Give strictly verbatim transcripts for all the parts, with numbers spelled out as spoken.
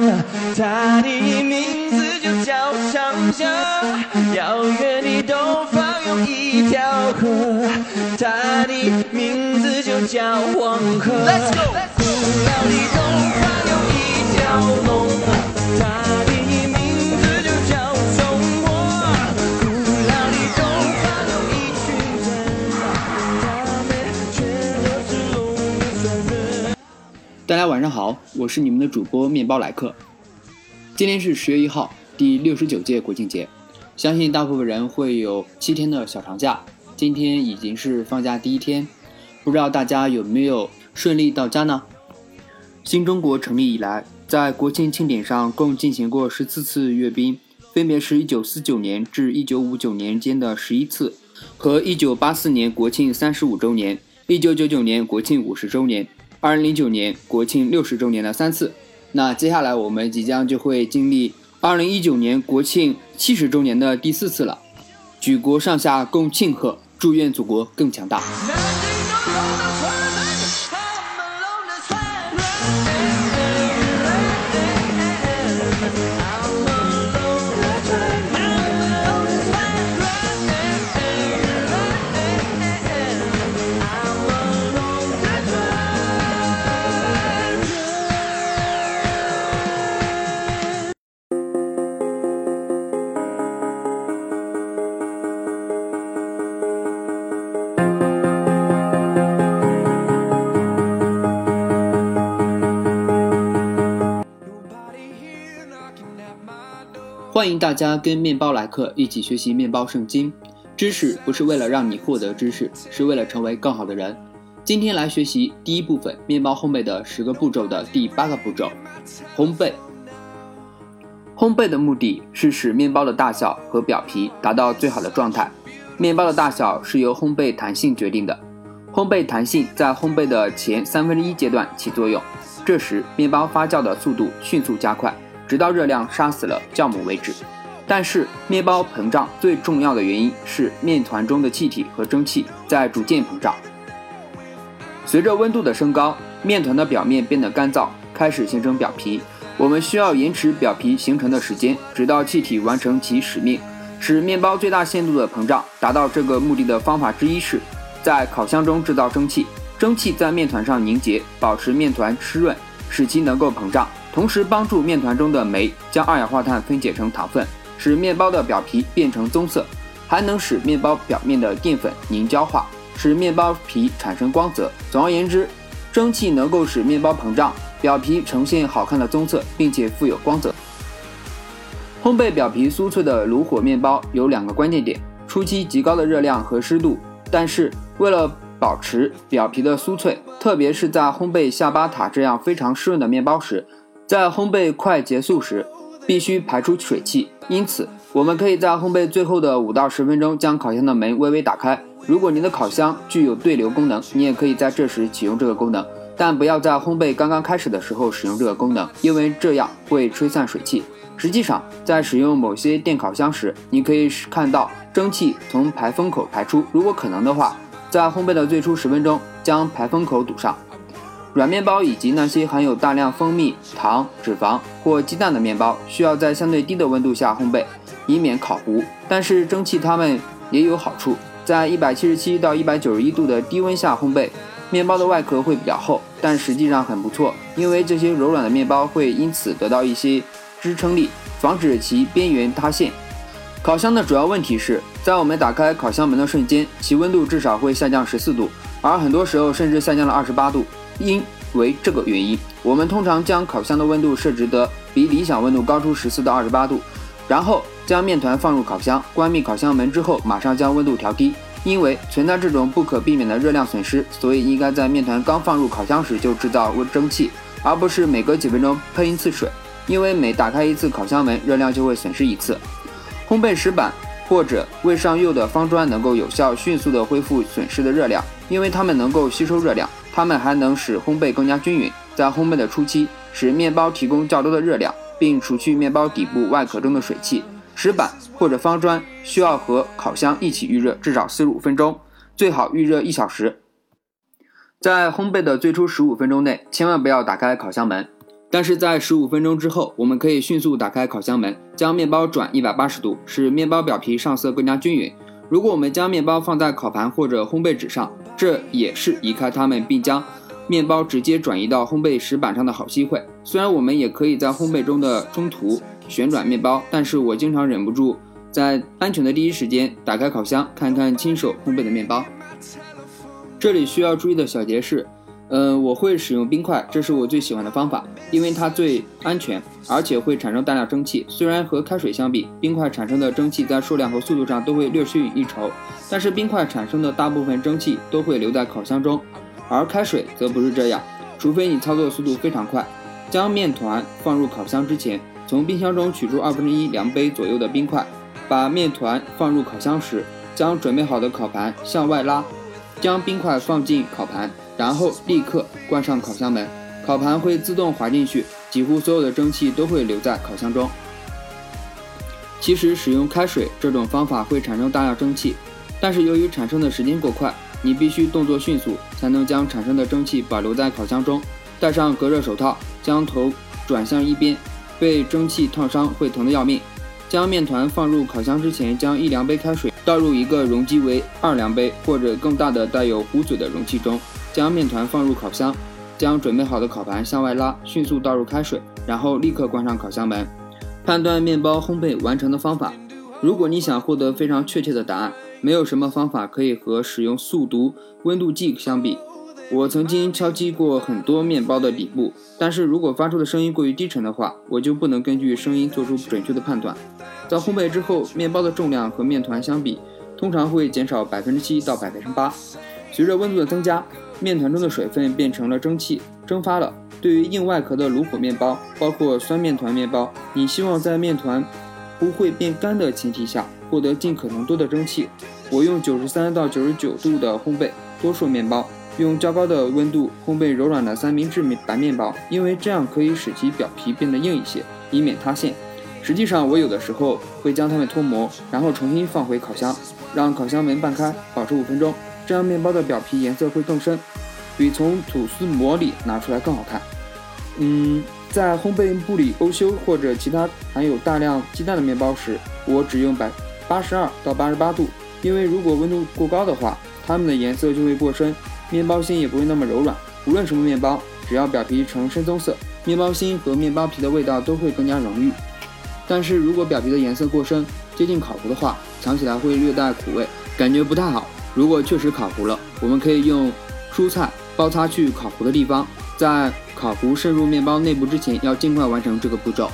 它的名字就叫长江，遥远的东方有一条河，它的名字就叫黄河。Let's go。古老的东方有一条龙，它的名字就叫中国。古老的东方有一群人，他们却都是龙的传人。 大家晚上好，我是你们的主播面包来客。今天是十月一号，第六十九届国庆节，相信大部分人会有七天的小长假，今天已经是放假第一天，不知道大家有没有顺利到家呢？新中国成立以来，在国庆庆典上共进行过十四次阅兵，分别是一九四九年至一九五九年间的十一次，和一九八四年国庆三十五周年、一九九九年国庆五十周年、二零零九年国庆六十周年的三次。那接下来我们即将就会经历二零一九年国庆七十周年的第四次了，举国上下共庆贺，祝愿祖国更强大。欢迎大家跟面包来客一起学习面包圣经。知识不是为了让你获得知识，是为了成为更好的人。今天来学习第一部分面包烘焙的十个步骤的第八个步骤，烘焙。烘焙的目的是使面包的大小和表皮达到最好的状态。面包的大小是由烘焙弹性决定的。烘焙弹性在烘焙的前三分之一阶段起作用，这时面包发酵的速度迅速加快，直到热量杀死了酵母为止。但是面包膨胀最重要的原因是面团中的气体和蒸汽在逐渐膨胀。随着温度的升高，面团的表面变得干燥，开始形成表皮。我们需要延迟表皮形成的时间，直到气体完成其使命，使面包最大限度的膨胀。达到这个目的的方法之一是在烤箱中制造蒸汽，蒸汽在面团上凝结，保持面团湿润，使其能够膨胀，同时帮助面团中的酶将二氧化碳分解成糖分，使面包的表皮变成棕色，还能使面包表面的淀粉凝胶化，使面包皮产生光泽。总而言之，蒸汽能够使面包膨胀，表皮呈现好看的棕色，并且富有光泽。烘焙表皮酥脆的炉火面包有两个关键点：初期极高的热量和湿度，但是为了保持表皮的酥脆，特别是在烘焙下巴塔这样非常湿润的面包时，在烘焙快结束时必须排出水汽，因此我们可以在烘焙最后的五到十分钟将烤箱的门微微打开。如果您的烤箱具有对流功能，你也可以在这时启用这个功能，但不要在烘焙刚刚开始的时候使用这个功能，因为这样会吹散水汽。实际上，在使用某些电烤箱时，你可以看到蒸汽从排风口排出，如果可能的话，在烘焙的最初十分钟将排风口堵上。软面包以及那些含有大量蜂蜜、糖、脂肪或鸡蛋的面包需要在相对低的温度下烘焙，以免烤糊。但是蒸汽它们也有好处，在一百七十七到一百九十一度的低温下烘焙，面包的外壳会比较厚，但实际上很不错，因为这些柔软的面包会因此得到一些支撑力，防止其边缘塌陷。烤箱的主要问题是，在我们打开烤箱门的瞬间，其温度至少会下降十四度，而很多时候甚至下降了二十八度。因为这个原因，我们通常将烤箱的温度设置得比理想温度高出十四到二十八度，然后将面团放入烤箱，关闭烤箱门之后马上将温度调低。因为存在这种不可避免的热量损失，所以应该在面团刚放入烤箱时就制造蒸汽，而不是每隔几分钟喷一次水，因为每打开一次烤箱门，热量就会损失一次。烘焙石板或者未上釉的方砖能够有效迅速地恢复损失的热量，因为它们能够吸收热量，它们还能使烘焙更加均匀，在烘焙的初期使面包提供较多的热量，并除去面包底部外壳中的水汽。石板或者方砖需要和烤箱一起预热至少四十五分钟，最好预热一小时。在烘焙的最初十五分钟内，千万不要打开烤箱门。 但是在十五分钟之后，我们可以迅速打开烤箱门，将面包转一百八十度，使面包表皮上色更加均匀。如果我们将面包放在烤盘或者烘焙纸上，这也是移开它们并将面包直接转移到烘焙石板上的好机会。虽然我们也可以在烘焙中的中途旋转面包，但是我经常忍不住在安全的第一时间打开烤箱，看看亲手烘焙的面包。这里需要注意的小节是呃，我会使用冰块，这是我最喜欢的方法，因为它最安全，而且会产生大量蒸汽。虽然和开水相比，冰块产生的蒸汽在数量和速度上都会略逊一筹，但是冰块产生的大部分蒸汽都会留在烤箱中，而开水则不是这样，除非你操作速度非常快。将面团放入烤箱之前，从冰箱中取出二分之一量杯左右的冰块，把面团放入烤箱时，将准备好的烤盘向外拉，将冰块放进烤盘，然后立刻关上烤箱门，烤盘会自动滑进去，几乎所有的蒸汽都会留在烤箱中。其实使用开水这种方法会产生大量蒸汽，但是由于产生的时间过快，你必须动作迅速，才能将产生的蒸汽保留在烤箱中。戴上隔热手套，将头转向一边，被蒸汽烫伤会疼得要命。将面团放入烤箱之前，将一量杯开水倒入一个容积为二量杯或者更大的带有壶嘴的容器中，将面团放入烤箱，将准备好的烤盘向外拉，迅速倒入开水，然后立刻关上烤箱门。判断面包烘焙完成的方法，如果你想获得非常确切的答案，没有什么方法可以和使用速读温度计相比。我曾经敲击过很多面包的底部，但是如果发出的声音过于低沉的话，我就不能根据声音做出准确的判断。在烘焙之后，面包的重量和面团相比，通常会减少 百分之七 到 百分之八。随着温度的增加，面团中的水分变成了蒸汽，蒸发了。对于硬外壳的炉火面包，包括酸面团面包，你希望在面团不会变干的前提下，获得尽可能多的蒸汽。我用九十三到九十九度的烘焙多数面包，用较高的温度烘焙柔软的三明治白面包，因为这样可以使其表皮变得硬一些，以免塌陷。实际上我有的时候会将它们脱模，然后重新放回烤箱，让烤箱门半开，保持五分钟，这样面包的表皮颜色会更深，比从吐司模里拿出来更好看。嗯，在烘焙布里欧修或者其他含有大量鸡蛋的面包时，我只用八十二到八十八度，因为如果温度过高的话，它们的颜色就会过深，面包芯也不会那么柔软。无论什么面包，只要表皮呈深棕色，面包芯和面包皮的味道都会更加浓郁。但是如果表皮的颜色过深，接近烤糊的话，尝起来会略带苦味，感觉不太好。如果确实烤糊了，我们可以用蔬菜包擦去烤糊的地方，在烤糊渗入面包内部之前，要尽快完成这个步骤。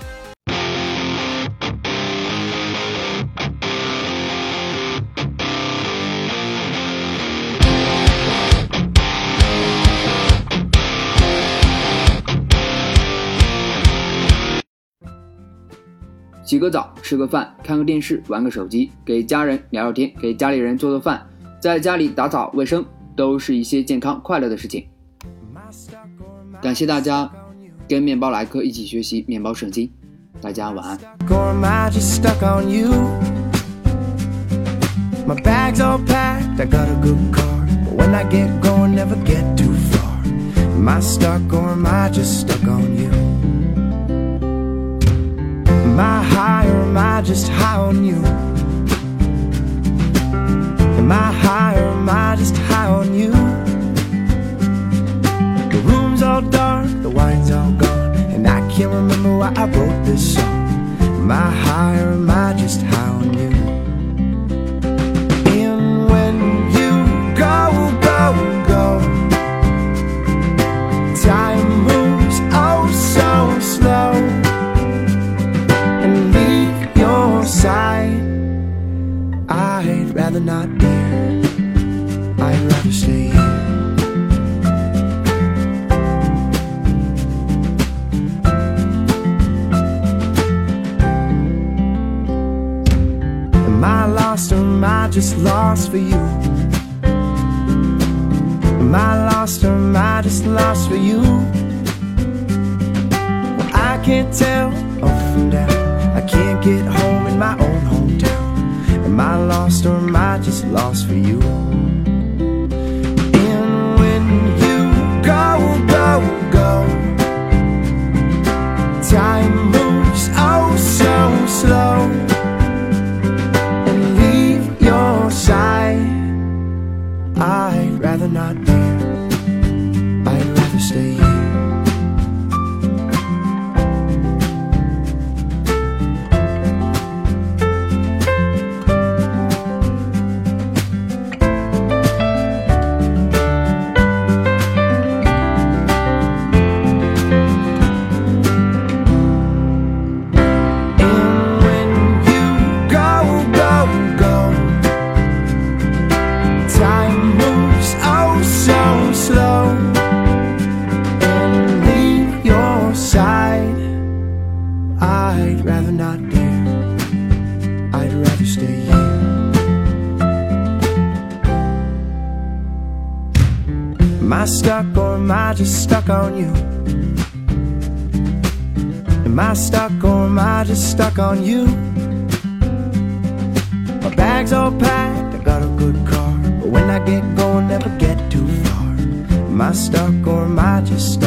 洗个澡，吃个饭，看个电视，玩个手机，给家人聊聊天，给家里人做做饭，在家里打扫卫生，都是一些健康快乐的事情。感谢大家跟面包来客一起学习面包圣经，大家晚安。My bag's all packed, I got a good car, but when I get going, never get too far. Am I stuck or am I just stuck on you? Am I high or am I just high on you? Am I high or am I just high on you? The room's all dark, the wine's all gone, and I can't remember why I wrote this song. Am I high or am I just high on you? And when you go, go, go, time moves oh so slow, and leave your side. I'd rather not be here, I'd rather stay here. Am I lost or am I just lost for you? Am I lost or am I just lost for you? Well, I can't tell up from down, I can't get home in my own hometown. Am I lost or am I just lost for you? And when you go, go, go, I'd rather not, dear. I'd rather stay here. I'd rather not, dear. I'd rather stay here. Am I stuck or am I just stuck on you? Am I stuck or am I just stuck on you? My bag's all packed, I got a good car, but when I get going, never get too far. Am I stuck or am I just stuck